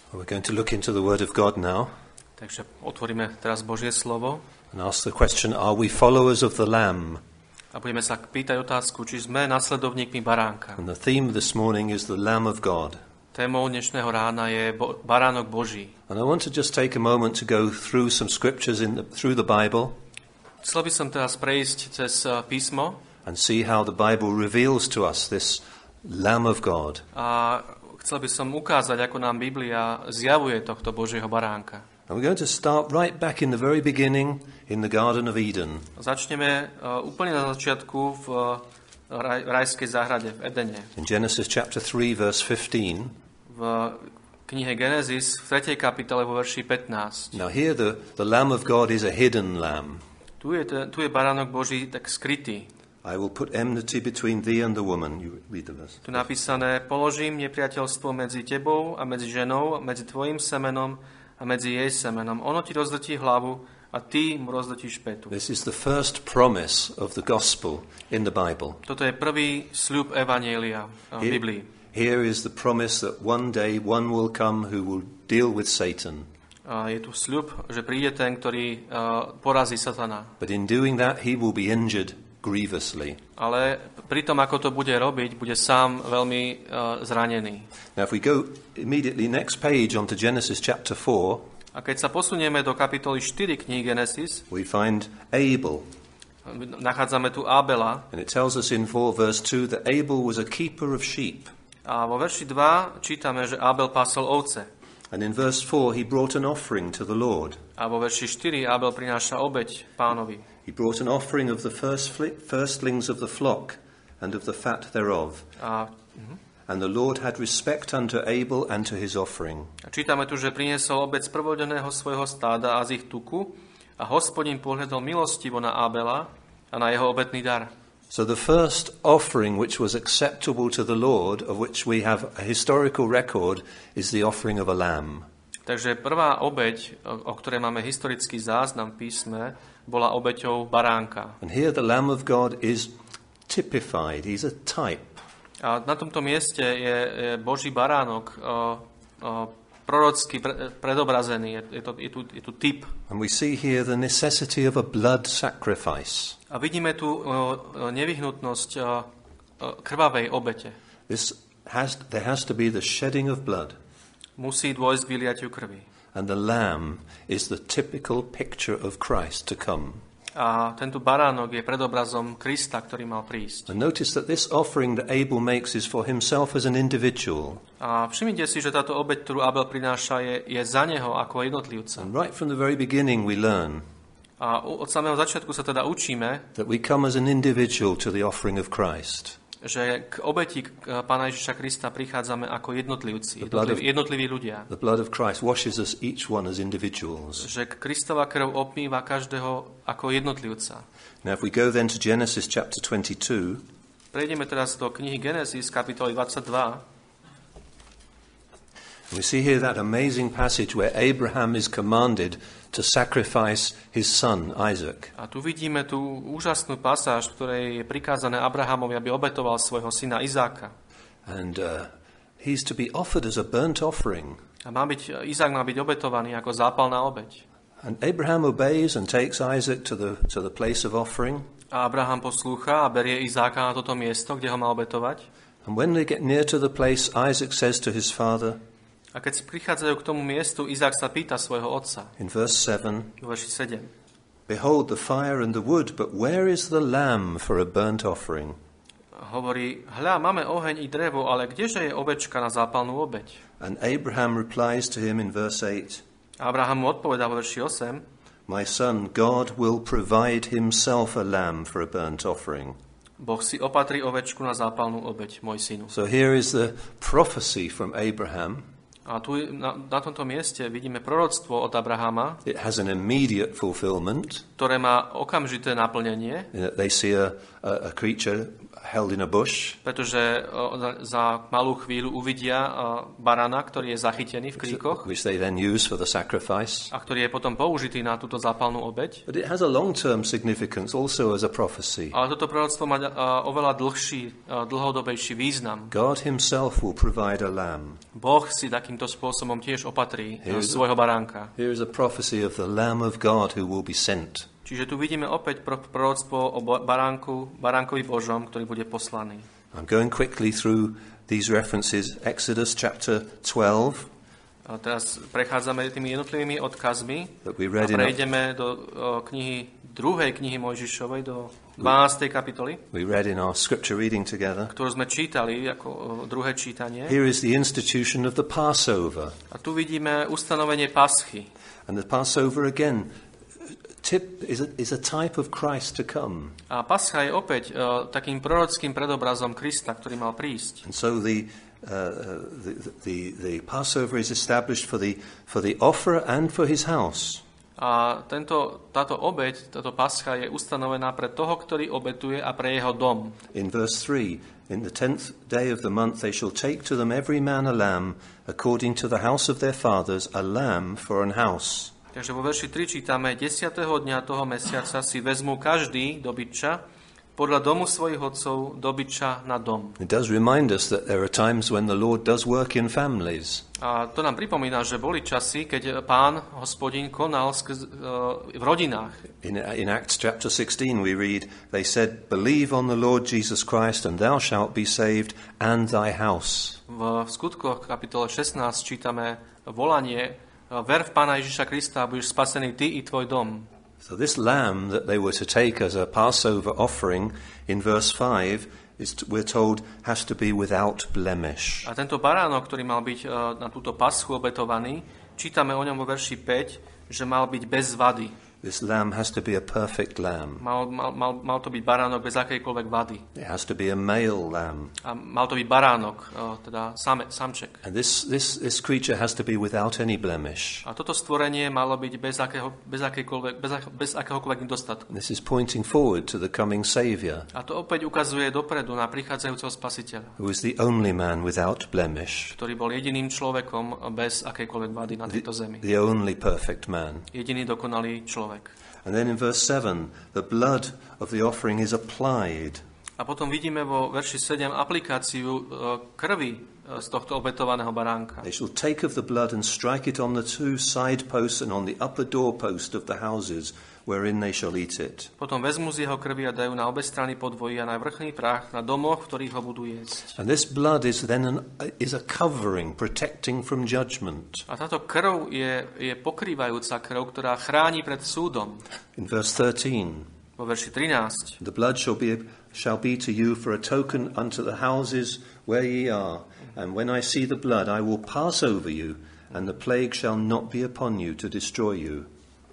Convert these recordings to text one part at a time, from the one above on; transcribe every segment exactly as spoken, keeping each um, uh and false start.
We're going to look into the Word of God now. Takže otvoríme teraz Božie slovo. And ask the question, are we followers of the Lamb? A budeme sa pýtať otázku, či sme nasledovníkmi baránka. And the theme this morning is the Lamb of God. Témou dnešného rána je bo- baránok Boží. And I want to just take a moment to go through some scriptures in the, through the Bible. Chcel by som teraz prejsť cez písmo and see how the Bible reveals to us this Lamb of God. A chcel by som ukázať, ako nám Biblia zjavuje tohto Božieho baránka. And we're going to start right back in the very beginning in the Garden of Eden. Začneme uh, úplne na začiatku v uh, raj, rajskej záhrade v Edene. In Genesis chapter three verse fifteen. V knihe Genesis v tretej kapitole vo verši pätnásť. Now here the, the Lamb of God is a hidden lamb. Tu je, tu je baránok Boží tak skrytý. I will put enmity between thee and the woman. You read the verse. Tu napísané, položím nepriateľstvo medzi tebou a medzi ženou, medzi tvojim semenom a medzi jej semenom. Ono ti rozdrtí hlavu a ty mu rozdrtíš petu. This is the first promise of the gospel in the Bible. Toto je prvý sľub evanjelia v Biblii. Here is the promise that one day one will come who will deal with Satan. Je tu sľub, že príde ten, ktorý uh, porazí Satana. But in doing that he will be injured grievously. Ale pri tom, ako to bude robiť, bude sám veľmi uh, zranený. Now if we go immediately next page onto Genesis chapter four, a keď sa posunieme do kapitoly štyri knihy Genesis, we find Abel. Nachádzame tu Abela. And it tells us in four verse two that Abel was a keeper of sheep. A vo verši dva čítame, že Abel pásol ovce. And in verse four he brought an offering to the Lord. A vo verši štyri Abel prináša obeť Pánovi. He brought an offering of the first fli- firstlings of the flock and of the fat thereof. A, uh-huh. And the Lord had respect unto Abel and to his offering. A čítame tu, že priniesol obeť z prvodeného svojho stáda a z ich tuku a Hospodin pohľadol milostivo na Abela a na jeho obetný dar. So the first offering which was acceptable to the Lord, of which we have a historical record, is the offering of a lamb. Takže prvá obeť, o ktorej máme historický záznam v písme, bola obeťou baránka. And here the Lamb of God is typified. He's a type. A na tomto mieste je, je Boží baránok o, o, prorocky pre, predobrazený. Je, je, to, je, tu, je tu typ. And we see here the necessity of a blood sacrifice. A vidíme tu o, o nevyhnutnosť o, o krvavej obete. This has, there has to be the shedding of blood. Musí dôjsť k vyliatiu krvi. And the lamb is the typical picture of Christ to come. A tento baránok je predobrazom Krista, ktorý mal prísť. And notice that this offering that Abel makes is for himself as an individual. A všimnite si, že táto obeť, ktorú Abel prináša, je, je za neho ako jednotlivca. And right from the very beginning we learn A od samého začiatku sa teda učíme, that we come as an individual to the offering of Christ. že k obeti Pána Ježiša Krista prichádzame ako jednotlivci, jednotliví, jednotliví ľudia. The blood of Christ washes us each one as individuals. Že Kristova krv obmýva každého ako jednotlivca. Now if we go then to Genesis chapter twenty-two, prejdeme teraz do knihy Genesis, kapitoly dvadsaťdva. We see here that amazing passage where Abraham is commanded to sacrifice his son Isaac. A tu vidíme tú úžasnú pasáž, v ktorej je prikázané Abrahamovi, aby obetoval svojho syna Izáka. And uh, he's to be offered as a burnt offering. A má byť, Izák má byť obetovaný ako zápalná obeť. And Abraham obeys and takes Isaac to the to the place of offering. A Abraham poslúcha a berie Izáka na toto miesto, kde ho má obetovať. And when they get near to the place, Isaac says to his father, a keď si prichádzajú k tomu miestu, Izák sa pýta svojho otca. In verse seven, verši sedem. Behold the fire and the wood, but where is the lamb for a burnt offering? Hovorí, hľa, máme oheň i drevo, ale kdeže je ovečka na zápalnú obeť? And Abraham replies to him in verse eight, Abraham mu odpovedá vo verši osem, My son, God will provide himself a lamb for a burnt offering. Boh si opatrí ovečku na zápalnú obeť, môj synu. So here is the prophecy from Abraham. A tu na, na tomto mieste vidíme proroctvo od Abrahama. It has an immediate fulfillment. Ktoré má okamžité naplnenie. They see a, a, a creature held in a bush. Pretože uh, za malú chvíľu uvidia uh, barana, ktorý je zachytený v kríkoch, which they then use for the sacrifice. A ktorý je potom použitý na túto zápalnú obeť. But it has a long-term significance also as a prophecy. Ale toto proroctvo má uh, oveľa dlhší, uh, dlhodobejší význam. God himself will provide a lamb. Boh si takýmto spôsobom tiež opatrí uh, svojho baránka. Here is a prophecy of the Lamb of God who will be sent. Čiže tu vidíme opäť proroctvo o baránku, baránkovi Božom, ktorý bude poslaný. I'm going quickly through these references. Exodus chapter twelve. A teraz prechádzame tými jednotlivými odkazmi a prejdeme do o, knihy, druhej knihy Mojžišovej, do dvanástej kapitoly, we read in our scripture reading together. Ktorú sme čítali ako o, druhé čítanie. Here is the institution of the Passover. A tu vidíme ustanovenie paschy. And the Passover again tip is a, is a type of Christ to come. A pascha je opäť uh, takým prorockým predobrazom Krista, ktorý mal prísť. And so the uh, the, the the Passover is established for the for the offerer and for his house. A tento táto obeť, táto pascha je ustanovená pre toho, ktorý obetuje, a pre jeho dom. In verse three, in the tenth day of the month they shall take to them every man a lamb according to the house of their fathers, a lamb for an house. Takže vo verši tri čítame: desiateho dňa toho mesiaca si vezmú každý dobytča podľa domu svojich otcov dobytča na dom. It does remind us that there are times when the Lord does work in families. A to nám pripomína, že boli časy, keď Pán, Hospodin, konal skrz, uh, v rodinách. In, in Acts chapter sixteen we read, they said, believe on the Lord Jesus Christ and thou shalt be saved and thy house. V skutkoch kapitole šestnásť čítame volanie: ver v Pána Ježiša Krista a budeš spasený ty i tvoj dom. So this lamb that they were to take as a Passover offering in verse five is, we're told, has to be without blemish. A tento baránok, ktorý mal byť uh, na túto paschu obetovaný, čítame o ňom vo verši päť, že mal byť bez vady. This lamb has to be a perfect lamb. Mal, mal, mal, mal to byť baránok bez akejkoľvek vady. It has to be a male lamb. A mal to byť baránok, uh, teda same, samček. And this, this, this creature has to be without any blemish. A toto stvorenie malo byť bez, akého, bez, bez, bez akéhokoľvek nedostatku. This is pointing forward to the coming Savior. A to opäť ukazuje dopredu na prichádzajúceho Spasiteľa, who is the only man without blemish. Ktorý bol jediným človekom bez akejkoľvek vady na tejto zemi. The only perfect man. Jediný dokonalý človek. And then in verse seven, the blood of the offering is applied. A potom vidíme vo verši sedem aplikáciu krvi z tohto obetovaného baránka. They shall take of the blood and strike it on the two side posts and on the upper doorpost of the houses wherein they shall eat it. Potom vezmu z jeho krvi a dajú na obe strany podvojí a na vrchný prach na domoch, v ktorých ho budú jesť. And this blood is then an, is a covering protecting from judgment. A táto krv je, je pokrývajúca krv, ktorá chráni pred súdom. In verse thirteen, vo verši trinásť, the blood shall be shall be to you for a token unto the houses where ye are, and when I see the blood I will pass over you, and the plague shall not be upon you to destroy you.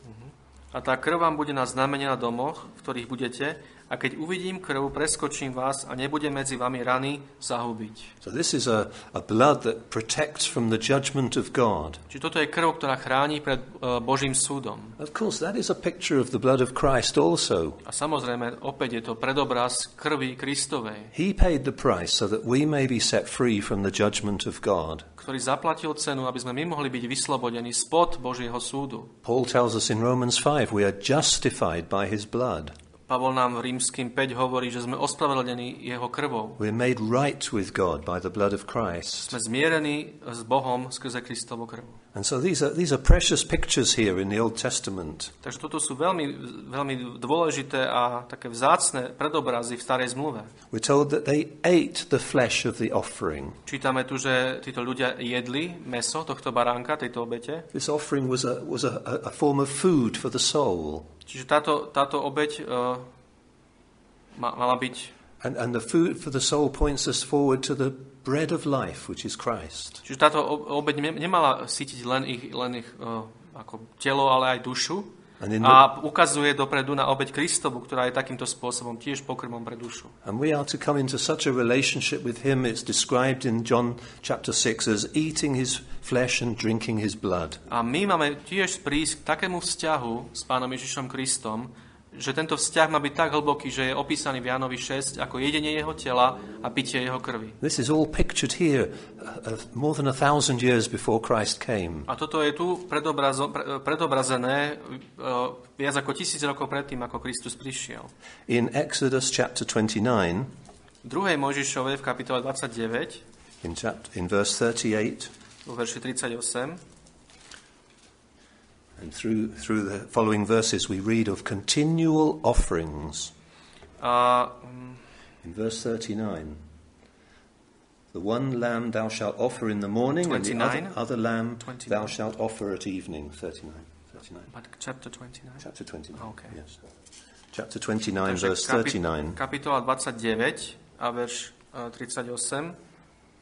A tá krv vám bude na znamenie na domoch, v ktorých budete, a keď uvidím krv, preskočím vás a nebude medzi vami rany zahubiť. So this is a, a blood that protects from the judgment of God. Čiže toto je krv, ktorá chráni pred uh, Božím súdom. Of course, that is a picture of the blood of Christ also. A samozrejme, opäť je to predobraz krvi Kristovej. He paid the price so that we may be set free from the judgment of God. Ktorý zaplatil cenu, aby sme my mohli byť vyslobodení spod Božieho súdu. Paul tells us in Romans five, we are justified by his blood. Pavol nám v Rímskym päť hovorí, že sme ospravedlnení jeho krvou. We're made right with God by the blood of Christ. Sme zmierení s Bohom skrze Kristovu krv. And so these are these are precious pictures here in the Old Testament. Takže toto sú veľmi veľmi dôležité a také vzácne predobrazy v Starej zmluve. We're told that they ate the flesh of the offering. Čítame tu, že títo ľudia jedli mäso tohto baránka, tejto obete. This offering was a was a, a form of food for the soul. Čiže táto táto obeť uh, mala byť. And, and the food for the soul points us forward to the bread of life, which is Christ. Čiže táto obeť nemala sytiť len ich, len ich uh, ako telo, ale aj dušu. The... A ukazuje dopredu na obeť Kristovu, ktorá je takýmto spôsobom tiež pokrmom pre dušu. And we are to come into such a relationship with him. It's described in John chapter six as eating his flesh and drinking his blood. A my máme tiež prísť k takému vzťahu s Pánom Ježišom Kristom, že tento vzťah má byť tak hlboký, že je opísaný v Jánovi šesť ako jedenie jeho tela a pitie jeho krvi. This is all pictured here uh, more than a thousand years before Christ came. A toto je tu predobrazo, pre, predobrazené uh, viac ako tisíc rokov predtým, ako Kristus prišiel. In Exodus chapter twenty-nine, v druhej Mojžišovej v kapitole dvadsaťdeväť, in, chapter, in verse thirty-eight, vo verši tridsaťosem, and through through the following verses we read of continual offerings. Uh, um, in verse thirty-nine, the one lamb thou shalt offer in the morning, twenty-nine, and the other, other lamb twenty-nine. Thou shalt offer at evening. thirty-nine. thirty-nine. But chapter twenty-nine? Chapter twenty-nine, oh, okay. Yes. Chapter twenty-nine, Takže verse thirty-nine. Kapitola dvadsaťdeväť a verš uh, tridsaťosem.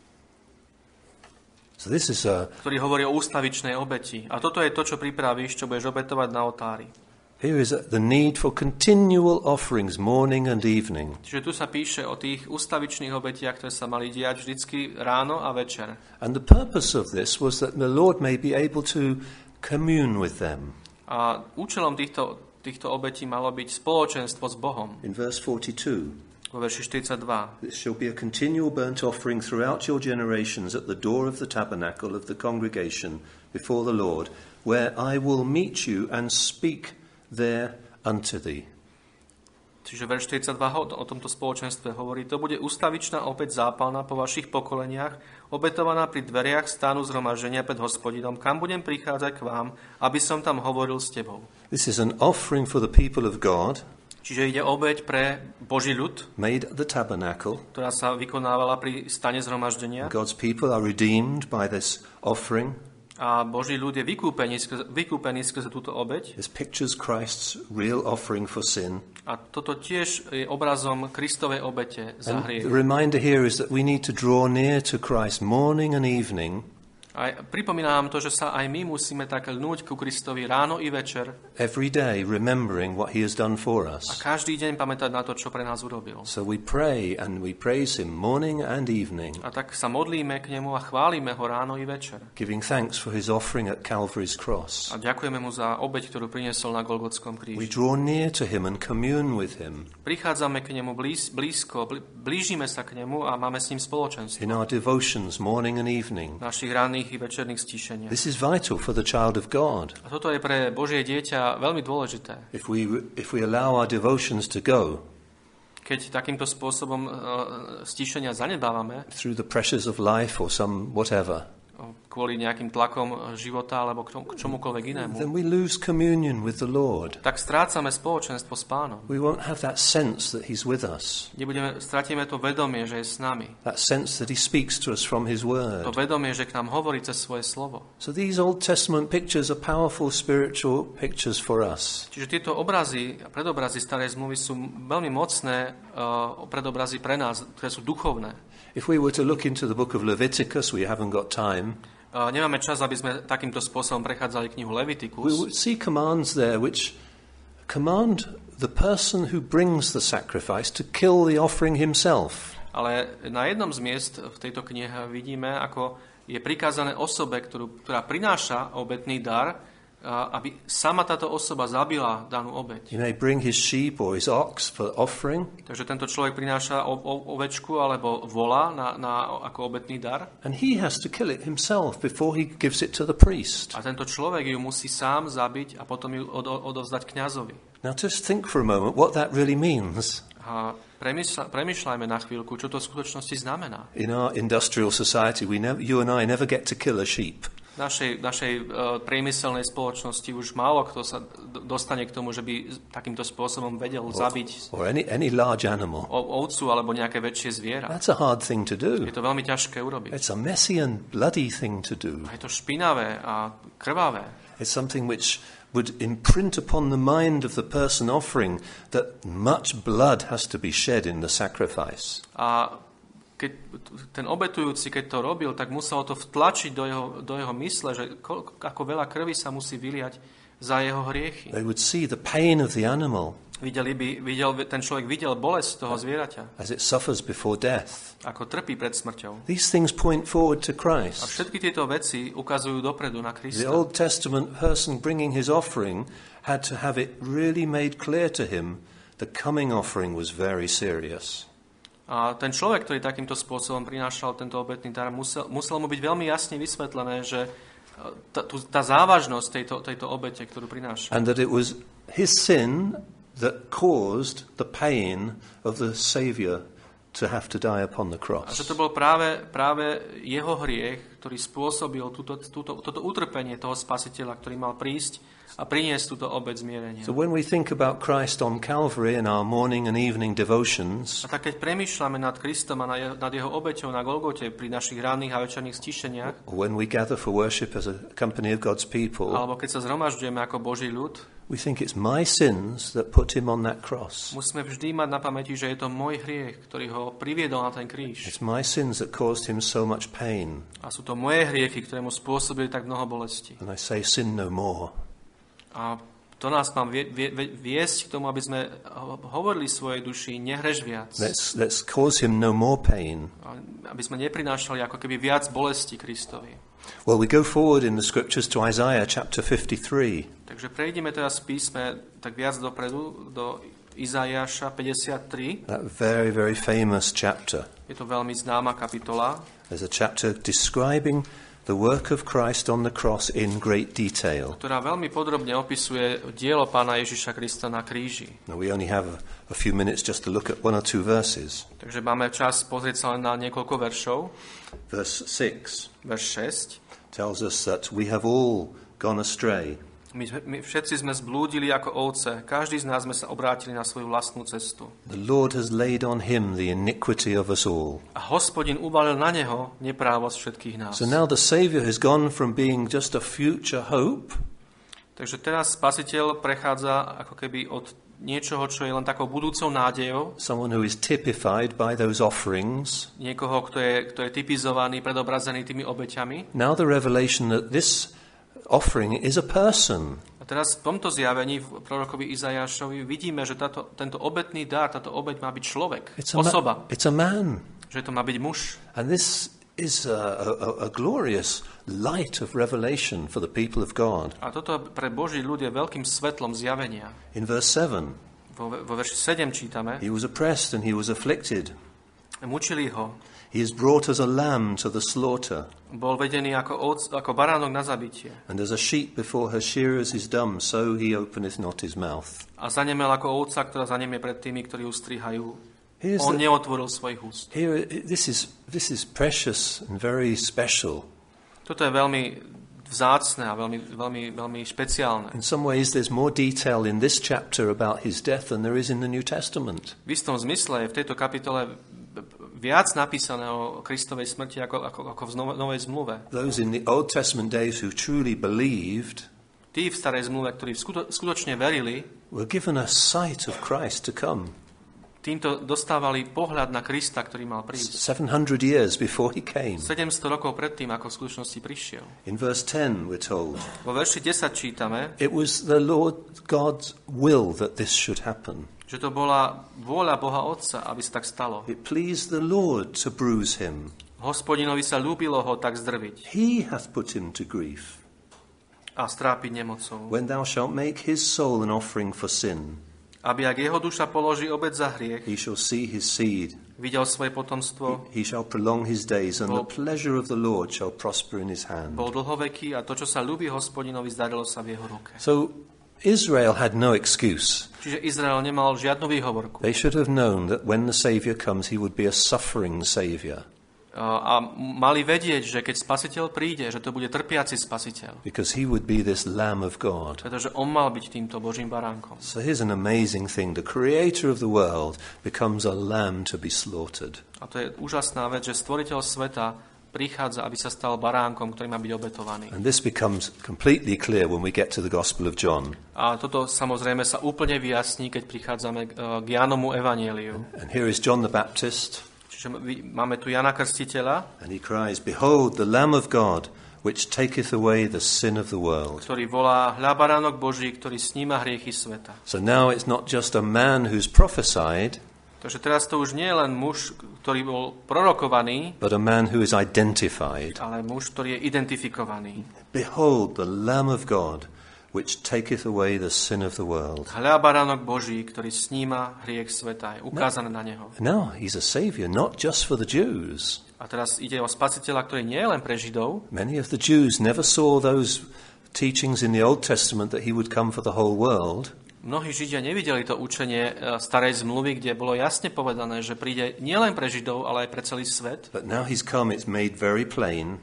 So this is a, ktorý hovorí o ústavičnej obeti. A toto je to, čo pripravíš, čo budeš obetovať na oltári. Here is the need for continual offerings morning and evening. Čiže tu sa píše o tých ústavičných obetiach, ktoré sa mali diať vždycky ráno a večer. And the purpose of this was that the Lord may be able to commune with them. A účelom týchto, týchto obetí malo byť spoločenstvo s Bohom. In verse forty-two, vo verši štyridsaťdva. This shall be a continual burnt offering throughout your generations at the door of the tabernacle of the congregation before the Lord, where I will meet you and speak there unto thee. Čiže verš štyridsaťdva o tomto spoločenstve hovorí, to bude ústavičná opäť zápalná po vašich pokoleniach, obetovaná pri dveriach stánu zhromaždenia pred Hospodinom, kam budem prichádzať k vám, aby som tam hovoril s tebou. This is an offering for the people of God. Čiže ide obeť pre Boží ľud, made at the tabernacle, ktorá sa vykonávala pri stane zhromaždenia. God's people are redeemed by this offering. A Boží ľud je vykúpený skrze, vykúpený skrze túto obeť. This pictures Christ's real offering for sin. A toto tiež je obrazom Kristovej obete za hriech. The reminder here is that we need to draw near to Christ morning and evening. A pripomínam to, že sa aj my musíme tak lnúť ku Kristovi ráno i večer. Every day remembering what he has done for us. A každý deň pamätať na to, čo pre nás urobil. So we pray and we praise him morning and evening. A tak sa modlíme k nemu a chválime ho ráno i večer. Giving thanks for his offering at Calvary's cross. A ďakujeme mu za obeť, ktorú priniesol na Golgotskom kríži. We draw near to him and commune with him. Prichádzame k nemu blíz, blízko, blížime sa k nemu a máme s ním spoločenstvo. In our devotions morning and evening. Našich ranných i večerných stíšeniach. This is vital for the child of God. A toto je pre Božie dieťa veľmi dôležité. If we if we allow our devotions to go, keď takýmto spôsobom uh, stíšenia zanedbávame, through the pressures of life or some whatever, kvôli nejakým tlakom života alebo k, tomu, k čomukoľvek inému, then we lose communion with the Lord. Tak strácame spoločenstvo s Pánom. We won't have that sense that he's with us. Nebudeme, stratíme to vedomie, že je s nami. That sense that he speaks to us from his word. To vedomie, že k nám hovorí cez svoje slovo. So these Old Testament pictures are powerful spiritual pictures for us. Čiže tieto obrazy, predobrazy starej zmluvy sú veľmi mocné uh, predobrazy pre nás, ktoré sú duchovné. If we were to look into the book of Leviticus, we haven't got time. Uh, nemáme čas, aby sme takýmto spôsobom prechádzali knihu Leviticus. We would see commands there which command the person who brings the sacrifice to kill the offering himself. Ale na jednom z miest v tejto knihe vidíme, ako je prikázané osobe, ktorú, ktorá prináša obetný dar, aby sama táto osoba zabila danú obeť. He may bring his sheep or his ox for offering. Takže tento človek prináša o, o, ovečku alebo vola na, na, ako obetný dar. And he has to kill it himself before he gives it to the priest. A tento človek ju musí sám zabiť a potom ju od, odovzdať kňazovi. Now just think for a moment what that really means. A premyšľa, premyšľajme na chvíľku, čo to v skutočnosti znamená. In our industrial society, we never, you and I never get to kill a sheep. V našej, našej uh, priemyselnej spoločnosti už málo kto sa d- dostane k tomu, že by takýmto spôsobom vedel or, zabiť or any, any large animal. O, ovcu alebo nejaké väčšie zviera. That's a hard thing to do. Je to veľmi ťažké urobiť. It's a messy and bloody thing to do. A je to špinavé a krvavé. It's something which would imprint upon the mind of the person offering that much blood has to be shed in the sacrifice. A keď ten obetujúci, keď to robil, tak muselo to vtlačiť do jeho, do jeho mysle, že koľko, ako veľa krvi sa musí vyliať za jeho hriechy. They would see the pain of the animal. Videli by, videl, ten človek videl bolesť toho zvieraťa. As it suffers before death. Ako trpí pred smrťou. These things point forward to Christ. A všetky tieto veci ukazujú dopredu na Krista. The Old Testament person bringing his offering had to have it really made clear to him the coming offering was very serious. A ten človek, ktorý takýmto spôsobom prinášal tento obetný dar, musel, musel mu byť veľmi jasne vysvetlené, že tá, tá závažnosť tejto, tejto obete, ktorú prináša. And that it was his sin that caused the pain of the Saviour to have to die upon the cross. A že to bol práve, práve jeho hriech, ktorý spôsobil túto, túto, toto utrpenie toho spasiteľa, ktorý mal prísť a priniesť túto obeť zmierenia. So when we think about Christ on Calvary in our morning and evening devotions, a tak keď premýšľame nad Kristom a nad jeho obeťou na Golgote pri našich ranných a večerných stišeniach, or when we gather for worship as a company of God's people, alebo keď sa zhromažďujeme ako Boží ľud, we think it's my sins that put him on that cross. Musíme vždy mať na pamäti, že je to môj hriech, ktorý ho priviedol na ten kríž. It's my sins that caused him so much pain. A sú to moje hriechy, ktoré mu spôsobili tak mnoho bolesti. And I say, sin no more. A to nás mám vie, vie, viesť k tomu, aby sme hovorili svojej duši, nehreš viac. Let's, let's cause him no more pain. Aby sme neprinášali ako keby viac bolesti Kristovi. Well, we go forward in the scriptures to Isaiah chapter fifty-three. Takže prejdeme teraz v písme tak viac dopredu do Izaiáša päťdesiattri. That very, very famous chapter. Je to veľmi známa kapitola. There's a chapter describing the work of Christ on the cross in great detail. Ktorá veľmi podrobne opisuje dielo Pána Ježiša Krista na kríži. Now we only have a, a few minutes just to look at one or two verses. Takže máme čas pozrieť sa len na niekoľko veršov. Verse six. Verš šesť tells us that we have all gone astray. My, my všetci sme zblúdili ako ovce, každý z nás sme sa obrátili na svoju vlastnú cestu. The Lord has laid on him the iniquity of us all. A Hospodin uvalil na neho neprávosť všetkých nás. So now the Savior has gone from being just a future hope. Takže teraz Spasiteľ prechádza ako keby od niečoho, čo je len takou budúcou nádejou. Someone who is typified by those offerings. Niekoho, kto je, kto je typizovaný, predobrazený tými obeťami. Now the revelation that this offering is a person. A teraz v tomto zjavení v prorokovi Izaiášovi vidíme, že táto, tento obetný dar, táto obeť má byť človek, It's a osoba. Ma- it's a man. Že to má byť muž. And this is a, a, a glorious light of revelation for the people of God. A toto pre Boží ľud je veľkým svetlom zjavenia. In verse seven, vo, vo verši sedem čítame: he was oppressed and he was afflicted. Mučili ho. He is brought as a lamb to the slaughter. Bol vedený ako, ovc, ako baránok na zabitie. And as a sheep before her shearers is dumb, so he openeth not his mouth. A zanemel ako ovca, ktorá zanemie pred tými, ktorí ju strihajú. Here's On the, neotvoril svojich úst. here, this is this is precious and very special. Toto je veľmi vzácne a veľmi, veľmi, veľmi špeciálne. In some ways, there's more detail in this chapter about his death than there is in the New Testament. V istom zmysle je v tejto kapitole viac napísané o Kristovej smrti ako, ako, ako v Novej zmluve. Those in the Old Testament days who truly believed Tí v starej zmluve, ktorí skuto, skutočne verili, were given a sight of Christ to come. Týmto dostávali pohľad na Krista, ktorý mal prísť. seven hundred years before he came. sedemsto rokov predtým, ako v skutočnosti prišiel. In verse ten, we're told, Vo verši desať čítame, it was the Lord God's will that this should happen. že to bola vôľa Boha Otca, aby sa tak stalo. It pleased the Lord to bruise him. Hospodinovi sa ľúbilo ho tak zdrviť He hath put him to grief. a strápiť nemocou. When thou shalt make his soul an offering for sin, Aby ak jeho duša položí obed za hriech, he shall see his seed. videl svoje potomstvo, He shall prolong his days, and the Bol- pleasure of the Lord shall prosper in his hand. bol dlhoveký a to, čo sa ľúbi Hospodinovi, zdarilo sa v jeho ruke. So Israel had no excuse. Čiže Izrael nemal žiadnu výhovorku. They should have known that when the Saviour comes, he would be a suffering Saviour, A mali vedieť, že keď Spasiteľ príde, že to bude trpiaci Spasiteľ. because he would be this Lamb of God. Pretože on mal byť týmto Božím baránkom. So here's an amazing thing. The creator of the world becomes a lamb to be slaughtered. A to je úžasná vec, že stvoriteľ sveta prichádza, aby sa stal baránkom, ktorý má byť obetovaný. And this becomes completely clear when we get to the Gospel of John. A toto samozrejme sa úplne vyjasní, keď prichádzame k Jánomu evanjeliu. And here is John the Baptist, Čiže máme tu Jana Krstiteľa, and he cries, Behold, the Lamb of God, which taketh away the sin of the world. ktorý volá: Hľa baránok Boží, ktorý sníma hriechy sveta. So now it's not just a man who's prophesied, Takže teraz to už nie je len muž, ktorý bol prorokovaný, but a man who is identified. ale muž, ktorý je identifikovaný. Behold, the Lamb of God, which taketh away the sin of the world. Hľa baránok Boží, ktorý sníma hriech sveta. Je ukázané na neho. Now, he's a savior, not just for the Jews. A teraz ide o spasiteľa, ktorý nie je len pre Židov. Many of the Jews never saw those teachings in the Old Testament that he would come for the whole world. Mnohí Židia nevideli to učenie starej zmluvy, kde bolo jasne povedané, že príde nielen pre Židov, ale aj pre celý svet. But now he's come, it's made very plain.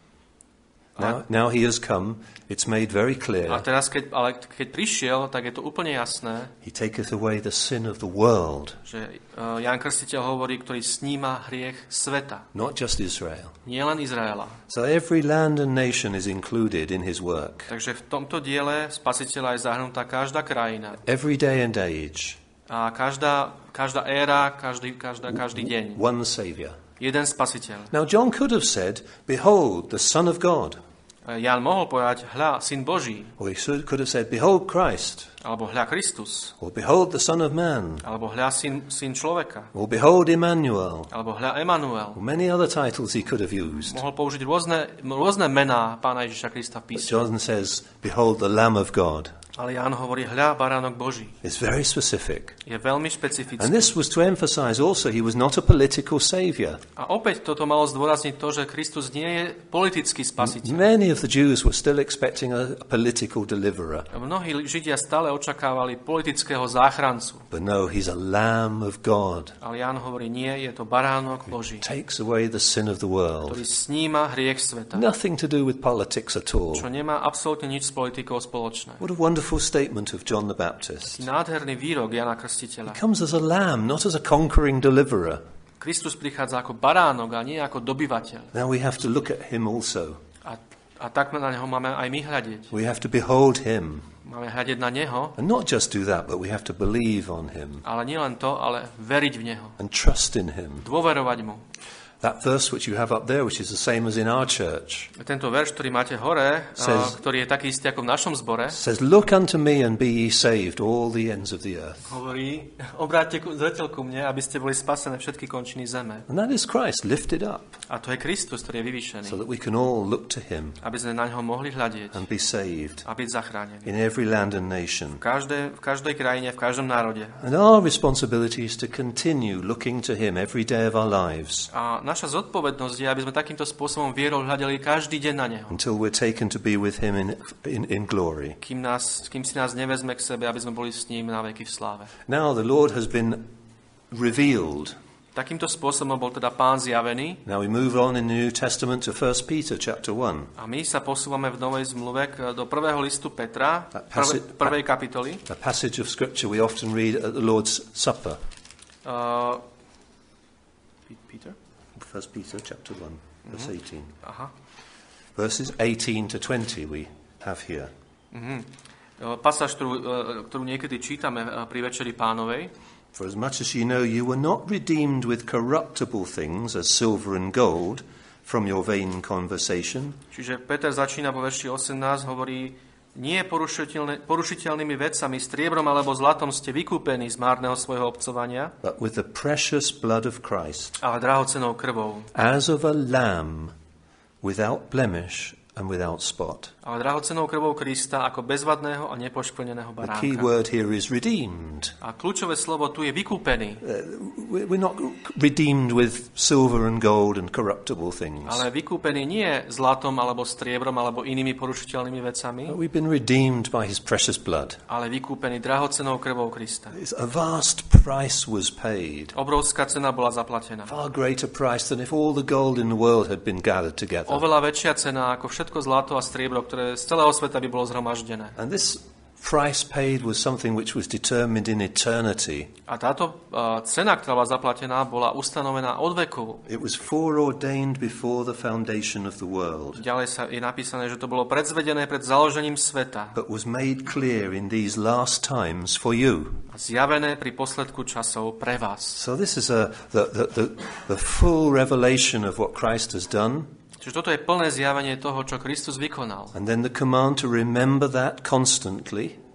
Now, now he has come, it's made very clear. A teraz, keď, ale keď prišiel, tak je to úplne jasné, He taketh away the sin of the world, že uh, Ján Krstiteľ hovorí, ktorý sníma hriech sveta, not just Israel. nie len Izraela. So every land and nation is included in his work. Takže v tomto diele Spasiteľa je zahrnutá každá krajina. Every day and age, A každá, každá éra, každý, každá, každý deň. one Savior. Jeden Spasiteľ. Now John could have said, behold, the Son of God. Ján mohol povedať, hľa, Syn Boží, Or he should- could have said, behold Christ. alebo hľa Kristus, Or behold the Son of Man. alebo hľa Syn, syn človeka, Or behold Emmanuel. alebo hľa Emanuel. Or many other titles he could have used. Mohol použiť rôzne, rôzne mená Pána Ježiša Krista v But písme. John says, behold the Lamb of God. Ale Ján hovorí, hľa, baránok Boží. It's very specific. Je veľmi špecifický. And this was to emphasize also he was not a political savior. A opäť toto malo zdôrazniť to, že Kristus nie je politický spasiteľ. Many of the Jews were still expecting a, a political deliverer. Mnohí Židia stále očakávali politického záchrancu. But no, he's a Lamb of God. Ale Ján hovorí, nie, je to baránok Boží, Takes away the sin of the world. ktorý sníma hriech sveta. Nothing to do with politics at all. Čo nemá absolútne nič s politikou spoločné. What a wonderful statement of John the Baptist. Nádherný výrok Jana Krstiteľa. He comes as a lamb, not as a conquering deliverer. Kristus prichádza ako baránok a nie ako dobyvateľ. Now we have to look at him also. A, a tak na neho máme aj my hľadiť. We have to behold him. Máme hľadiť na neho, And not just do that, but we have to believe on him ale nie len to, ale veriť v neho. and trust in him. Dôverovať mu. That verse which you have up there, which is the same as in our church, Tento verš, ktorý máte hore, Says- a, ktorý je taký istý ako v našom zbore, says, look unto me and be ye saved, all the ends of the earth. hovorí, obráťte ku- zreteľ ku mne, aby ste boli spasené všetky končiny zeme. And that is Christ lifted up, A to je Kristus, ktorý je vyvýšený. so that we can all look to him Aby sme na ňo mohli hľadieť and be saved a byť zachránení. in every land and nation. V každej, v každej krajine, v každom národe. And our responsibility is to continue looking to him every day of our lives A naša zodpovednosť je, aby sme takýmto spôsobom vierou hľadeli každý deň na neho. until we're taken to be with him in, in, in glory. Kým, nás, kým si nás nevezme k sebe, aby sme boli s ním na veky v sláve. Now the Lord has been revealed. Takýmto spôsobom bol teda Pán zjavený Now we move on in the New Testament to First Peter chapter one. a my sa posúvame v Novej zmluve k- do prvého listu Petra, That prvé, passage- prvej kapitoly. A passage of scripture we often read at the Lord's Supper. Uh, Peter? First Peter chapter one, verse eighteen. Aha. Verses eighteen to twenty we have here. Uh, pasáž, ktorú, uh, ktorú niekedy čítame uh, pri Večeri Pánovej. For as much as ye know, you were not redeemed with corruptible things as silver and gold from your vain conversation, Čiže Peter začína vo verši osemnásť, hovorí, nie porušiteľné, porušiteľnými vecami, striebrom alebo zlatom ste vykúpení z márneho svojho obcovania, but with the precious blood of Christ, ale drahocenou krvou. as of a lamb without blemish and without spot. Ale drahocenou krvou Krista ako bezvadného a nepoškvrneného The key baránka. word here is redeemed. A kľúčové slovo tu je vykúpený. Uh, We're not redeemed with silver and gold and corruptible things. Ale vykúpený nie zlatom alebo striebrom alebo inými porušiteľnými vecami, But we've been redeemed by his precious blood. ale vykúpený drahocenou krvou Krista. It's a vast price was paid. Obrovská cena bola zaplatená. Far greater price than if all the gold in the world had been gathered together. Oveľa väčšia cena ako všetko zlato a striebro, ktoré z celého sveta by bolo zhromaždené. And this price paid was something which was determined in eternity. A táto uh, cena, ktorá bola zaplatená, bola ustanovená od veku. It was foreordained before the foundation of the world, Ďalej sa je napísané, že to bolo predzvedené pred založením sveta but was made clear in these last times for you. a zjavené pri posledku časov pre vás. So this is a, the, the, the, the full revelation of what Christ has done, Čiže toto je plné zjavenie toho, čo Kristus vykonal. and then the command to remember that constantly.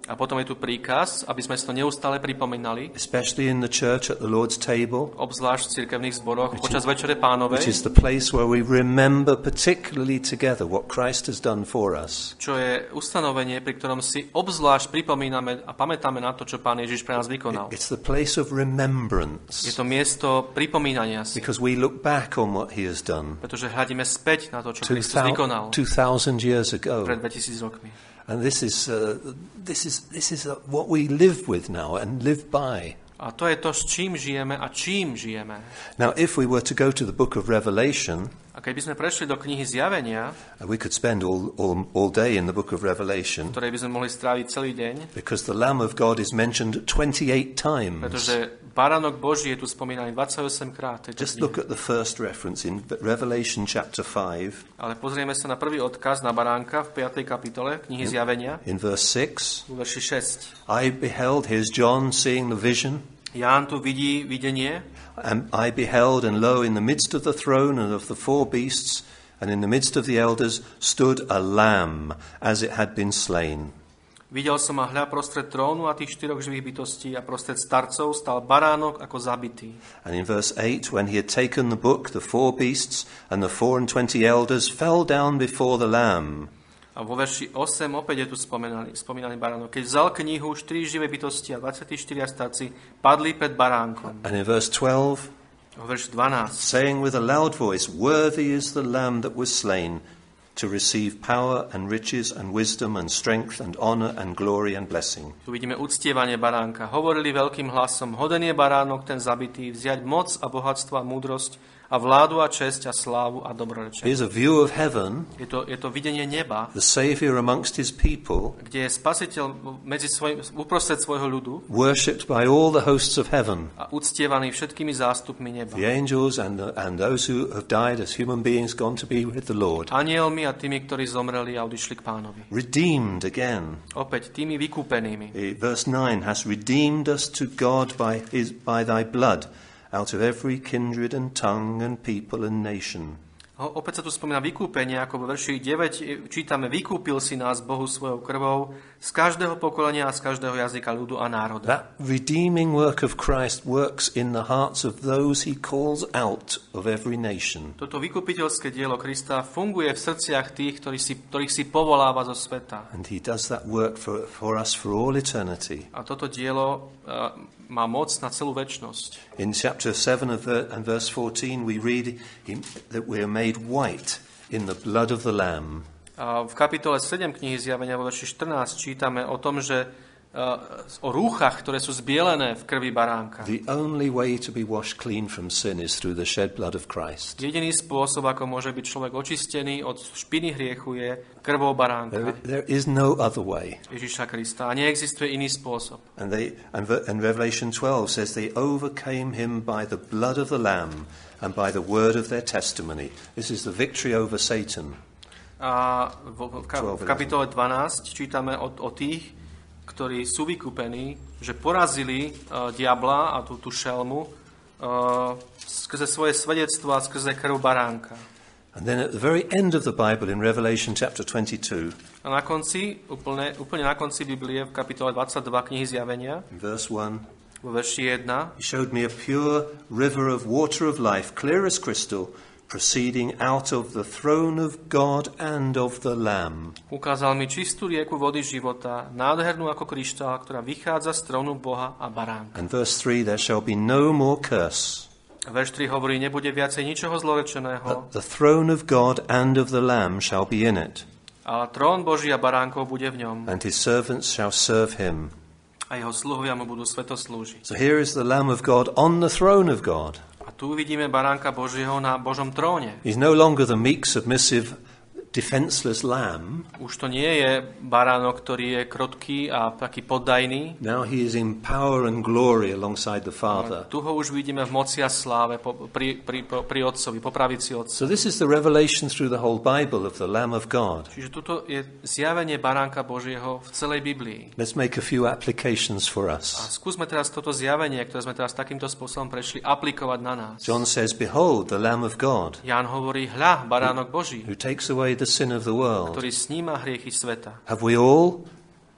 A potom je tu príkaz, aby sme si to neustále pripomínali, especially in the church at the Lord's table, obzvlášť v cirkevných zboroch počas Večere Pánovej, which is the place where we remember particularly together what Christ has done for us. Čo je ustanovenie, pri ktorom si obzvlášť pripomíname a pamätáme na to, čo Pán Ježiš pre nás vykonal. It's the place of remembrance. Je to miesto pripomínania si, Because we look back on what he has done pretože hľadíme späť na to, čo two Kristus vykonal thousand years ago. pred dvetisíc rokmi. And this is uh, this is this is uh, what we live with now and live by. A to je to, s čím žijeme a čím žijeme. Now, if we were to go to the book of Revelation, A keby sme prešli do knihy Zjavenia, we could spend all, all, all day in the book of Revelation, ktorej by sme mohli stráviť celý deň, because the Lamb of God is mentioned twenty-eight times. pretože baránok Boží je tu spomínaný dvadsaťosem krát. Just look at the first reference in Revelation chapter five. Ale pozrieme sa na prvý odkaz na baránka v piatej kapitole knihy Zjavenia, In verse six, v verši šesť. I beheld, here's John seeing the vision, Ján tu vidí videnie, and I beheld, and lo, in the midst of the throne and of the four beasts, and in the midst of the elders, stood a lamb, as it had been slain. videl som a hľa prostred trónu a tých štyroch živých bytostí a prostred starcov stal baránok ako zabitý. And in verse eight, when he had taken the book, the four beasts and the four and twenty elders fell down before the lamb. A vo verši osem opäť je tu spomínaný, spomínaný baránok. Keď vzal knihu, štyri živé bytosti a dvadsaťštyria starci padli pred baránkom. And in verse twelve, Vo verši dvanásť. saying with a loud voice, worthy is the lamb that was slain to receive power and riches and wisdom and strength and honor and glory and blessing. Tu vidíme uctievanie baránka. Hovorili veľkým hlasom, hoden je baránok ten zabitý, vziať moc a bohatstvo a múdrosť a vládu a česť a slávu a dobrorečenie. Here's a view of heaven, Je to, je to videnie neba, the Saviour amongst his people, kde je spasiteľ medzi svoj, uprostred svojho ľudu worshipped by all the hosts of heaven, a uctievaný všetkými zástupmi neba. the angels and, the, and those who have died as human beings gone to be with the Lord. Anielmi a tými, ktorí zomreli a odišli k Pánovi. Redeemed again. Opäť tými vykúpenými. Eh, Verse nine, has redeemed us to God by, his, by thy blood, out of every kindred and tongue and people and nation. Ho, opäť sa tu spomína vykúpenie, ako vo verši deväť čítame, vykúpil si nás Bohu svojou krvou z každého pokolenia a z každého jazyka, ľudu a národa. That redeeming work of Christ works in the hearts of those he calls out of every nation. Toto vykupiteľské dielo Krista funguje v srdciach tých, ktorí si, ktorých si povoláva zo sveta. And he does that work for, for us for all eternity. A toto dielo uh, má moc na celú večnosť. In chapter seven of ver- and verse fourteen, we read him, that we are made white in the blood of the Lamb. A v kapitole sedem knihy Zjavenia vo verši štrnásť čítame o tom, že uh, o rúchach, ktoré sú zbielené v krvi baránka. The only way to be washed clean from sin is through the shed blood of Christ. Jediný spôsob, ako môže byť človek očistený od špiny hriechu, je krvou There, baránka there is no other way. Ježiša Krista. A neexistuje iný spôsob. And they and, Ver- and Revelation twelve says they overcame him by the blood of the Lamb and by the word of their testimony. This is the victory over Satan. A v, v, ka- v kapitole dvanásť čítame o, o tých, ktorí sú vykúpení, že porazili uh, diabla a tú, tú šelmu uh, skrze svoje svedectvo a skrze krv baránka. And then at the very end of the Bible in Revelation chapter twenty-two, A na konci, úplne, úplne na konci Biblie, v kapitole dvadsaťdva knihy Zjavenia, in verse one, vo verši jeden, he showed me a pure river of water of life, clear as crystal, proceeding out of the throne of God and of the Lamb. ukázal mi čistú rieku vody života, nádhernú ako kryštál, ktorá vychádza z trónu Boha a baránka. And verse three, there shall be no more curse. Verš tri hovorí, nebude viacej ničoho zlorečeného, But the throne of God and of the Lamb shall be in it, a trón Boží a baránkov bude v ňom and his servants shall serve him. a jeho sluhovia mu budú sveto slúžiť. So here is the Lamb of God on the throne of God. A tu vidíme baránka Božieho na Božom tróne. He's no longer the meek, submissive, defenseless lamb. Už to nie je baránok, ktorý je krotký a taký poddajný. Now he is in power and glory alongside the Father. Tu ho už vidíme v moci a sláve po, pri, pri, pri Otcovi, po pravici Otca. So this is the revelation through the whole Bible of the Lamb of God. Čiže tuto je zjavenie baránka Božieho v celej Biblii. Let's make a few applications for A us. skúsme teraz toto zjavenie, ktoré sme teraz takýmto spôsobom prešli, aplikovať na nás. John says, behold, the Lamb of God, Ján hovorí, hľa, baránok Boží, who takes away the sin of the world. ktorý sníma hriechy sveta. Have we all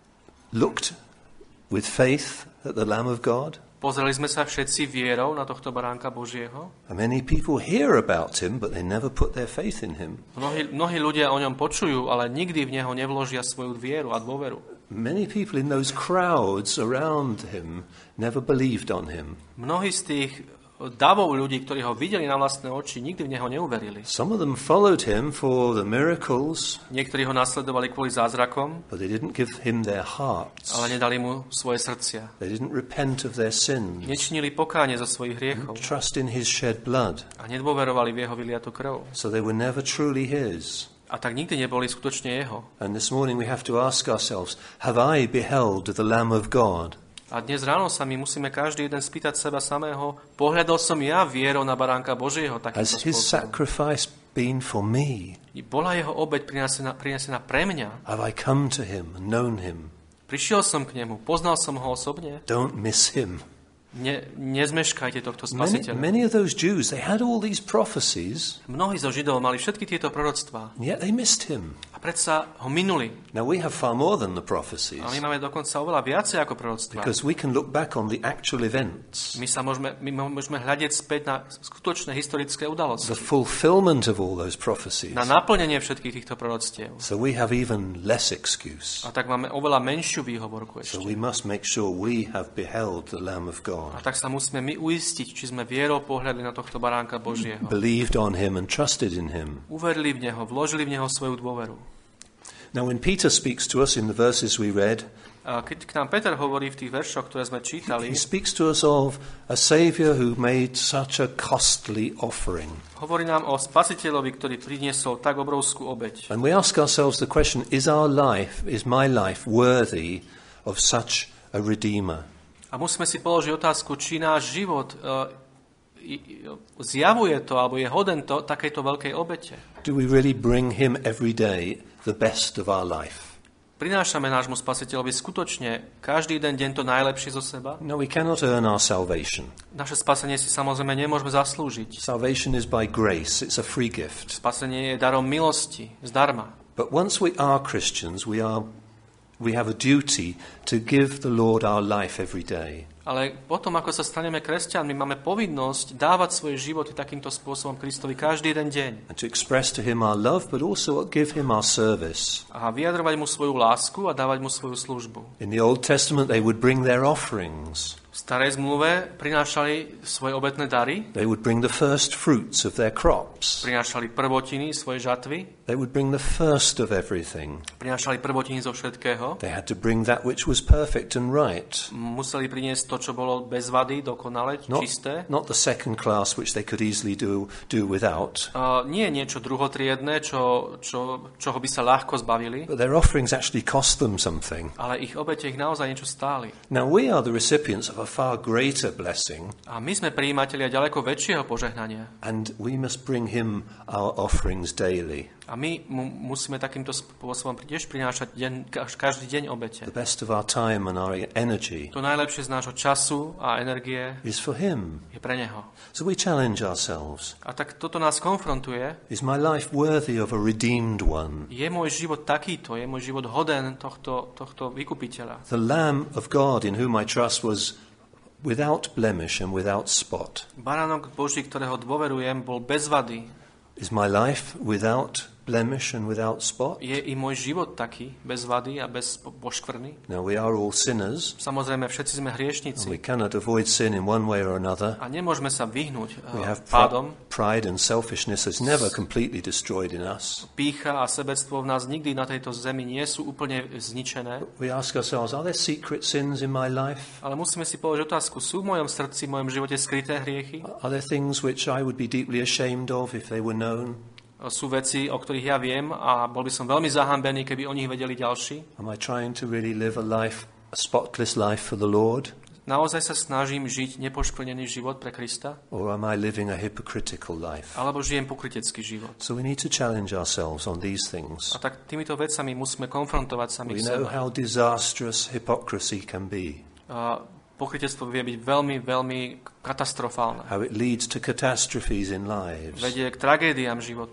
looked with faith at the Lamb of God? Pozreli sme sa všetci vierou na tohto baránka Božieho. And many people hear about him, but they never put their faith in him. Mnohí, mnohí ľudia o ňom počujú, ale nikdy v neho nevložia svoju vieru a dôveru. Many people in those crowds around him never believed on him. Mnohí z tých davov ľudí, ktorí ho videli na vlastné oči, nikdy v neho neuverili. Some of them followed him for the miracles, Niektorí ho nasledovali kvôli zázrakom, but they didn't give him their hearts. ale nedali mu svoje srdcia. They didn't repent of their sins. Nečinili pokánie za svojich hriechov Trust in his shed blood. a nedôverovali v jeho vyliatu krv. So they were never truly his. A tak nikdy neboli skutočne jeho. And this morning we have to ask ourselves, have I beheld the Lamb of God? A dnes ráno sa my musíme každý jeden spýtať seba samého, pohľadol som ja vierou na baránka Božieho takýmto Has his spôsobom? sacrifice been for me? Bola jeho obeť prinesená, prinesená pre mňa? Have I come to him and known him? Prišiel som k nemu, poznal som ho osobne? Don't miss him. Ne, nezmeškajte tohto Many, spasiteľa. many of those Jews, they had all these prophecies, Mnohí zo Židov mali všetky tieto proroctvá and yet they missed him. a predsa ho minuli. Now we have far more than the prophecies, A my máme dokonca oveľa viacej ako proroctvá. because we can look back on the actual events, My sa môžeme, my môžeme hľadiť späť na skutočné historické the udalosti. fulfillment of all those prophecies. Na naplnenie všetkých týchto proroctiev. So we have even less excuse. A tak máme oveľa menšiu výhovorku So ešte. we must make sure we have beheld the Lamb of A God, tak sa musíme my uistiť, či sme vierou pohľadli na tohto baránka Božieho. believed on him and trusted in him. Uverili v neho, vložili v neho svoju dôveru. Now when Peter speaks to us in the verses we read, A keď k nám Peter hovorí v tých veršoch, ktoré sme čítali, he speaks to us of a Saviour who made such a costly offering. hovorí nám o spasiteľovi, ktorý priniesol tak obrovskú obeť. And we ask ourselves the question, is our life, is my life worthy of such a Redeemer? A musíme si položiť otázku, či náš život uh, zjavuje to, alebo je hoden to, takejto veľkej obete. Do we really bring him every day the best of our life? Prinášame nášmu spasiteľovi skutočne každý jeden deň to najlepšie zo seba? No, we cannot earn our salvation. Naše spasenie si samozrejme nemôžeme zaslúžiť. Salvation is by grace. It's a free gift. Spasenie je darom milosti, zdarma. But once we are Christians, we are we have a duty to give the Lord our life every day. Ale potom, ako sa staneme kresťanmi, máme povinnosť dávať svoje životy takýmto spôsobom Kristovi každý jeden deň. And to express to him our love, but also give him our service. A vyjadrovať mu svoju lásku a dávať mu svoju službu. In the Old Testament, they would bring their offerings. V starej zmluve prinášali svoje obetné dary, They would bring the first fruits of their crops. prinášali prvotiny svojej žatvy, They would bring the first of everything. prinášali prvotiny zo všetkého, They had to bring that which was perfect and right. museli priniesť to, čo bolo bez vady, dokonale, Not, čisté. not the second class, which they could easily do, do without. Uh, nie niečo druhotriedne, čo, čo, čoho by sa ľahko zbavili, But their offerings actually cost them something. ale ich obete ich naozaj niečo stáli. Now, we are the recipients of a far greater blessing, A my sme prijímatelia ďaleko väčšieho požehnania. and we must bring him our offerings daily. A my mu musíme takýmto spôsobom tiež prinášať deň, každý deň obete. The best of our time and our energy To najlepšie z nášho času a energie is for him. je pre neho. So we challenge ourselves. A tak toto nás konfrontuje. Is my life worthy of a redeemed one? Je môj život takýto, je môj život hoden tohto, tohto vykupiteľa. The Lamb of God in whom I trust was without blemish and without spot. Baránok Boží, ktorého dôverujem, bol bez vady. Is my life without blemish and without spot? Je i môj život taký, bez vady a bez po- poškvrny. Now, we are all sinners, Samozrejme, všetci sme and hriešnici we cannot avoid sin in one way or another. a nemôžeme sa vyhnúť We uh, have pr- pádom. pride and selfishness is never completely destroyed in us. Pýcha a sebectvo v nás nikdy na tejto zemi nie sú úplne zničené, We ask ourselves, are there secret sins in my life? ale musíme si položiť otázku, sú v mojom srdci, v mojom živote skryté hriechy? Are there things which I would be deeply ashamed of if they were known? Sú veci, o ktorých ja viem a bol by som veľmi zahambený, keby o nich vedeli ďalší. Am I trying to really live a life, a spotless life for the Lord? Naozaj sa snažím žiť nepoškvrnený život pre Krista? Or am I living a hypocritical life? Alebo žijem pokrytecký život? So we need to challenge ourselves on these things. A tak týmito vecami musíme konfrontovať We samých know seba. how disastrous hypocrisy can be, A pokrytectvo vie byť veľmi, veľmi katastrofálne. how it leads to catastrophes in lives. Vedie k tragédiám životným.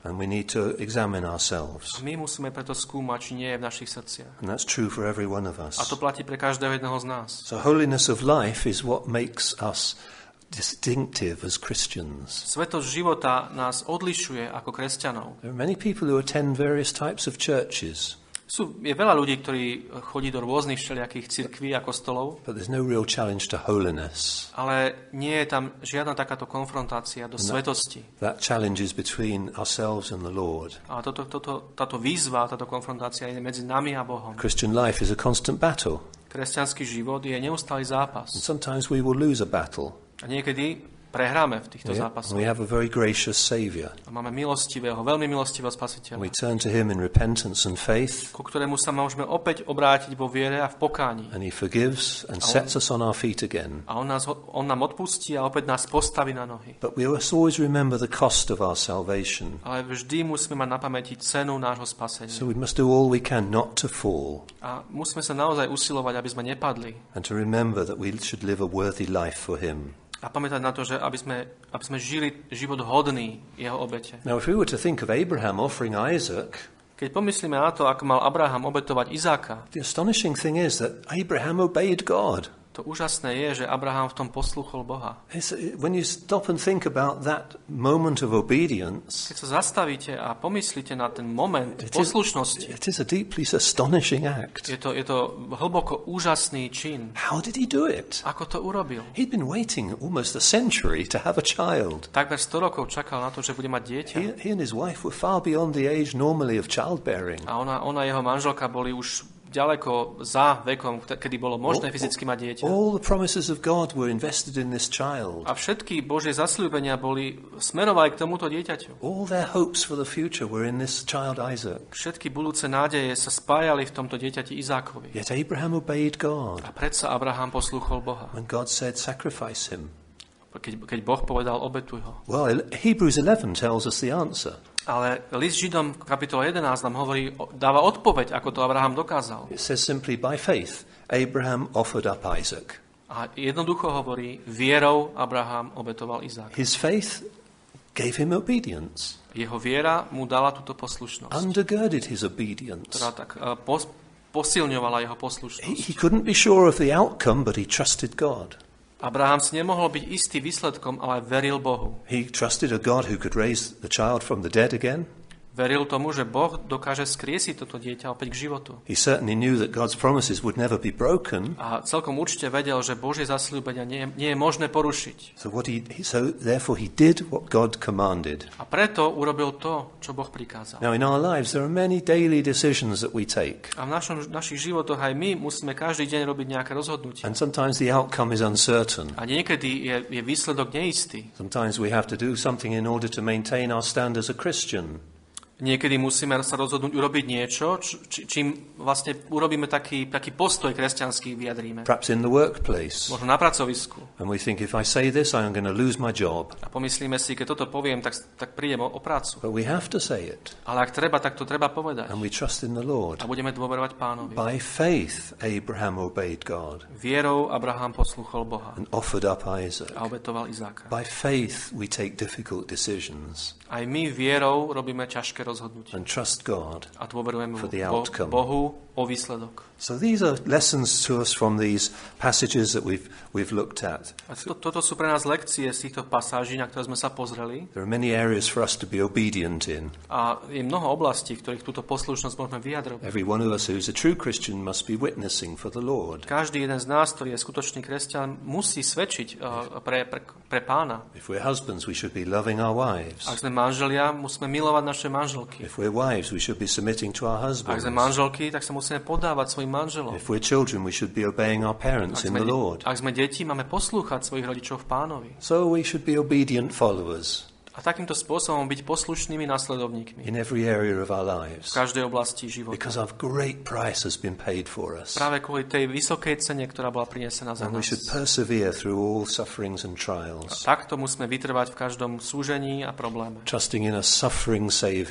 And we need to examine ourselves. A my musíme preto skúmať, či nie je v našich srdciach. And that's true for every one of us. A to platí pre každého jedného z nás. So holiness of life is what makes us distinctive as Christians. Svetosť života nás odlišuje ako kresťanov. There are many people who attend various types of churches. Sú, je veľa ľudí, ktorí chodí do rôznych všelijakých cirkví a kostolov, But there's no real challenge to holiness. ale nie je tam žiadna takáto konfrontácia do svetosti. That challenge is between ourselves and the Lord. A toto, toto, táto výzva, táto konfrontácia je medzi nami a Bohom. Christian life is a constant battle. Kresťanský život je neustály zápas. And sometimes we will lose a battle. A niekedy prehráme v týchto We, zápasoch. we have a very gracious Saviour. A máme milostivého, veľmi milostivého spasiteľa, We turn to him in repentance and faith, ku ktorému sa môžeme opäť obrátiť vo viere a v pokáni. and he forgives and sets us on our feet again. A on, nás, on nám odpustí a opäť nás postaví na nohy. But we must always remember the cost of our salvation. Ale vždy musíme mať na pamäti cenu nášho spasenia. So we must do all we can not to fall, A musíme sa naozaj usilovať, aby sme nepadli. and to remember that we should live a worthy life for him. A pamätať na to, že aby sme, aby sme žili život hodný jeho obete. Now, if we were to think of Abraham offering Isaac, Keď pomyslíme na to, ako mal Abraham obetovať Izáka, the astonishing thing is that Abraham obeyed God. to úžasné je, že Abraham v tom poslúchol Boha. It's, when you stop and think about that moment of obedience, Keď sa zastavíte a pomyslíte na ten moment it is, poslušnosti, it is a deeply astonishing act. je to, je to hlboko úžasný čin. How did he do it? Ako to urobil? He'd been waiting almost a century to have a child. Takmer sto rokov čakal na to, že bude mať dieťa. He, he and his wife were far beyond the age normally of childbearing. A ona, ona jeho manželka boli už ďaleko za vekom, kedy bolo možné fyzicky mať dieťa. All the promises of God were invested in this child. A všetky Božie zasľúbenia boli smerovali k tomuto dieťaťu. All their hopes for the future were in this child Isaac. Všetky budúce nádeje sa spájali v tomto dieťati Izákovi. Yet Abraham obeyed God. A predsa Abraham poslúchol Boha. When God said, sacrifice him. Keď, keď Boh povedal, obetuj ho. Well, Hebrews eleven tells us the answer. Ale list Židom v kapitole jedenásť nám hovorí, dáva odpoveď, ako to Abraham dokázal. It says simply, by faith, Abraham offered up Isaac. A jednoducho hovorí, vierou Abraham obetoval Izáka. His faith gave him obedience, Jeho viera mu dala túto poslušnosť, undergirded his obedience. ktorá tak uh, pos, posilňovala jeho He, poslušnosť. he couldn't be sure of the outcome, but he trusted God. Abraham si nemohol byť istý výsledkom, ale veril Bohu. He trusted a God who could raise the child from the dead again. Veril tomu, že Boh dokáže skriesiť toto dieťa opäť k životu. He certainly knew that God's promises would never be broken. A celkom určite vedel, že Božie zasľúbenia nie, nie je možné porušiť. So what he, he so therefore he did what God commanded. A preto urobil to, čo Boh prikázal. Now in our lives there are many daily decisions that we take, A v našom, našich životoch aj my musíme každý deň robiť nejaké rozhodnutie. and sometimes the outcome is uncertain. A niekedy je, je výsledok neistý. Sometimes we have to do something in order to maintain our stand as a Christian. Niekedy musíme sa rozhodnúť urobiť niečo, či, čím vlastne urobíme taký, taký postoj kresťanský, vyjadríme. Perhaps in the workplace. Možno na pracovisku. And we think, if I say this, I'm going to lose my job. A pomyslíme si, keď toto poviem, tak, tak prídem o, o prácu. But we have to say it. Ale ak treba, tak to treba povedať. And we trust in the Lord. A budeme dôverovať Pánovi. By faith, Abraham obeyed God Vierou Abraham poslúchol Boha and offered up Isaac. a obetoval Izáka. By faith, we take difficult decisions Aj my vierou robíme ťažké rozhodnutie. and trust God. A dôverujeme For the Bo- outcome. Bohu o výsledok. So these are lessons to us from these passages that we've, we've looked at. A to, toto sú pre nás lekcie z týchto pasáží, na ktoré sme sa pozreli. There are many areas for us to be obedient in. A je mnoho oblastí, v ktorých túto poslušnosť môžeme vyjadrovať. Every one of us who's a true Christian must be witnessing for the Lord. Každý jeden z nás, ktorý je skutočný kresťan, musí svedčiť uh, pre, pre, pre Pána. If we're husbands, we should be loving our wives. Ak sme manželia, musíme milovať naše manželky. If we're wives, we should be submitting to our Ak husbands. sme manželky, tak sa musíme podávať svojim manželom. If we're children, we should be obeying our parents Ak in sme, the Lord. ak sme deti, máme poslúchať svojich rodičov v Pánovi. So we should be obedient followers A takýmto spôsobom byť poslušnými nasledovníkmi in every area of our v lives, každej oblasti života. because our great price has been paid for us. Práve kvôli tej vysokej cene, ktorá bola prinesená za And we nás. should persevere through all sufferings and trials, Takto musíme vytrvať v každom súžení a probléme. trusting in a suffering Saviour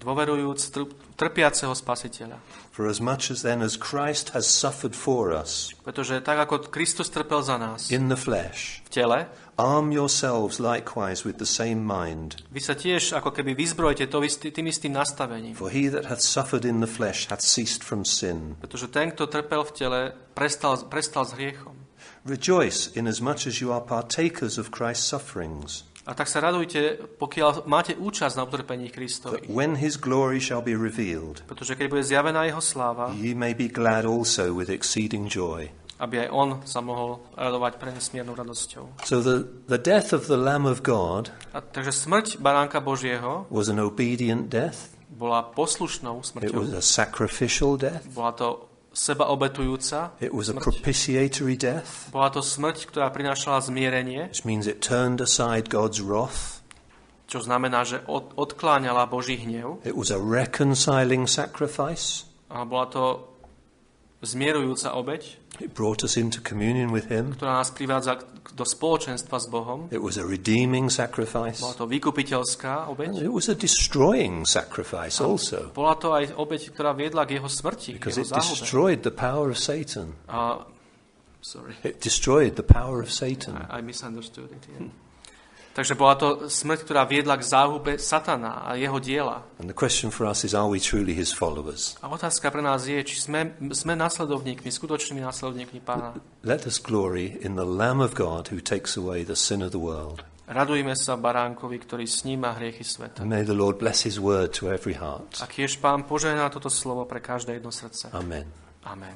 dôverujúc trpiaceho Spasiteľa. For as much as then as Christ has suffered for us, pretože tak ako Kristus trpel za nás in the flesh, v tele, arm yourselves likewise with the same mind. Vy sa tiež ako keby vyzbrojte to istý, tým istým nastavením. For he that hath suffered in the flesh hath ceased from sin. Pretože ten, kto trpel v tele, prestal, prestal s hriechom. Rejoice inasmuch as you are partakers of Christ's sufferings. A tak sa radujte, pokiaľ máte účasť na utrpení Kristovi. When his glory shall be revealed, pretože keď bude zjavená jeho sláva, ye may be glad also with exceeding joy. Aby aj on sa mohol radovať pre nesmiernou radosťou. So the, the death of the Lamb of God, a takže smrť baránka Božieho, was an obedient death. Bola poslušnou smrťou. It was a sacrificial death. Bola to seba obetujúca It was smrť. A propitiatory death. Bola to smrť, ktorá prinášala zmierenie. Which means it turned aside God's wrath. Čo znamená, že od, odkláňala Boží hnev. It was a reconciling sacrifice. A bola to zmierujúca obeť. It brought us into communion with him. Ktorá nás privádza do spoločenstva s Bohom. It was a redeeming sacrifice. Bola to vykupiteľská obeť. And it was a destroying sacrifice also. Bola to aj obeť, ktorá viedla k jeho smrti, because jeho it záhube. destroyed the power of Satan. A, sorry. It destroyed the power of Satan. I, I misunderstood it. Yeah. Takže bola to smrť, ktorá viedla k záhube Satana a jeho diela. And the question for us is, are we truly his followers? A otázka pre nás je, či sme, sme nasledovníkmi, skutočnými nasledovníkmi Pána. Let us glory in the Lamb of God who takes away the sin of the world. Radujme sa baránkovi, ktorý sníma hriechy sveta. And may the Lord bless his word to every heart. A kiež Pán požehná toto slovo pre každé jedno srdce. Amen. Amen.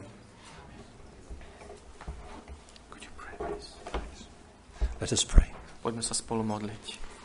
Could you pray, please? Let us pray. Poďme sa spolu modliť.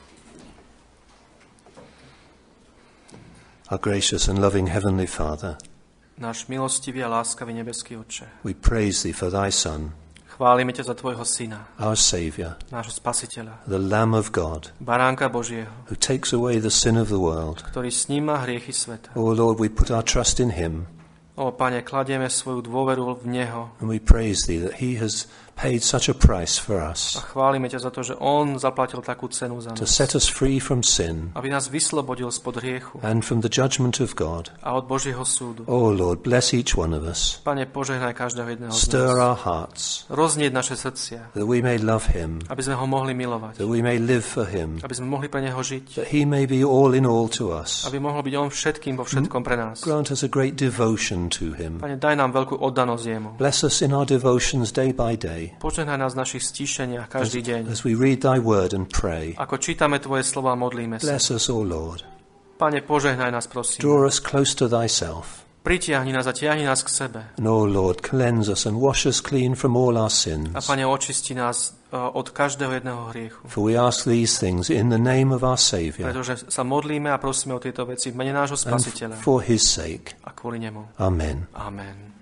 Our gracious and loving Heavenly Father, náš milostivý a láskavý nebeský Otče, we praise Thee for Thy Son, chválime ťa za Tvojho Syna, our Saviour, nášho Spasiteľa, the Lamb of God, baránka Božieho, who takes away the sin of the world. ktorý sníma hriechy sveta. Oh Lord, we put our trust in Him. O Pane, kladieme svoju dôveru v Neho. And we praise Thee that He has paid such a price for us. A chválime ťa za to, že On zaplatil takú cenu za nás. To set us free from sin. Aby nás vyslobodil spod hriechu. And from the judgment of God. A od Božieho súdu. Oh Lord, bless each one of us. Pane, požehnaj každého jedného z nás. Stir our hearts. Roznieť naše srdcia. That we may love Him. Aby sme ho mohli milovať. That we may live for Him. Aby sme mohli pre Neho žiť. That He may be all in all to us. Aby mohol byť On všetkým vo všetkom pre nás. Grant us a great devotion to Him. Pane, daj nám veľkú oddanosť Jemu. Bless us in our devotions day by day. Požehnaj nás v našich stíšeniach každý deň. As we read Thy word and pray. Ako čítame Tvoje slova a modlíme sa. Bless us, O Lord. Pane, požehnaj nás, prosím. Draw us close to Thyself. Pritiahni nás a tiahni nás k sebe. And, O Lord, cleanse us and wash us clean from all our sins. A Pane, očisti nás uh, od každého jedného hriechu. For we ask these things in the name of our Saviour. Pretože sa modlíme a prosíme o tieto veci v mene nášho Spasiteľa. And for His sake. A kvôli Nemu. Amen. Amen.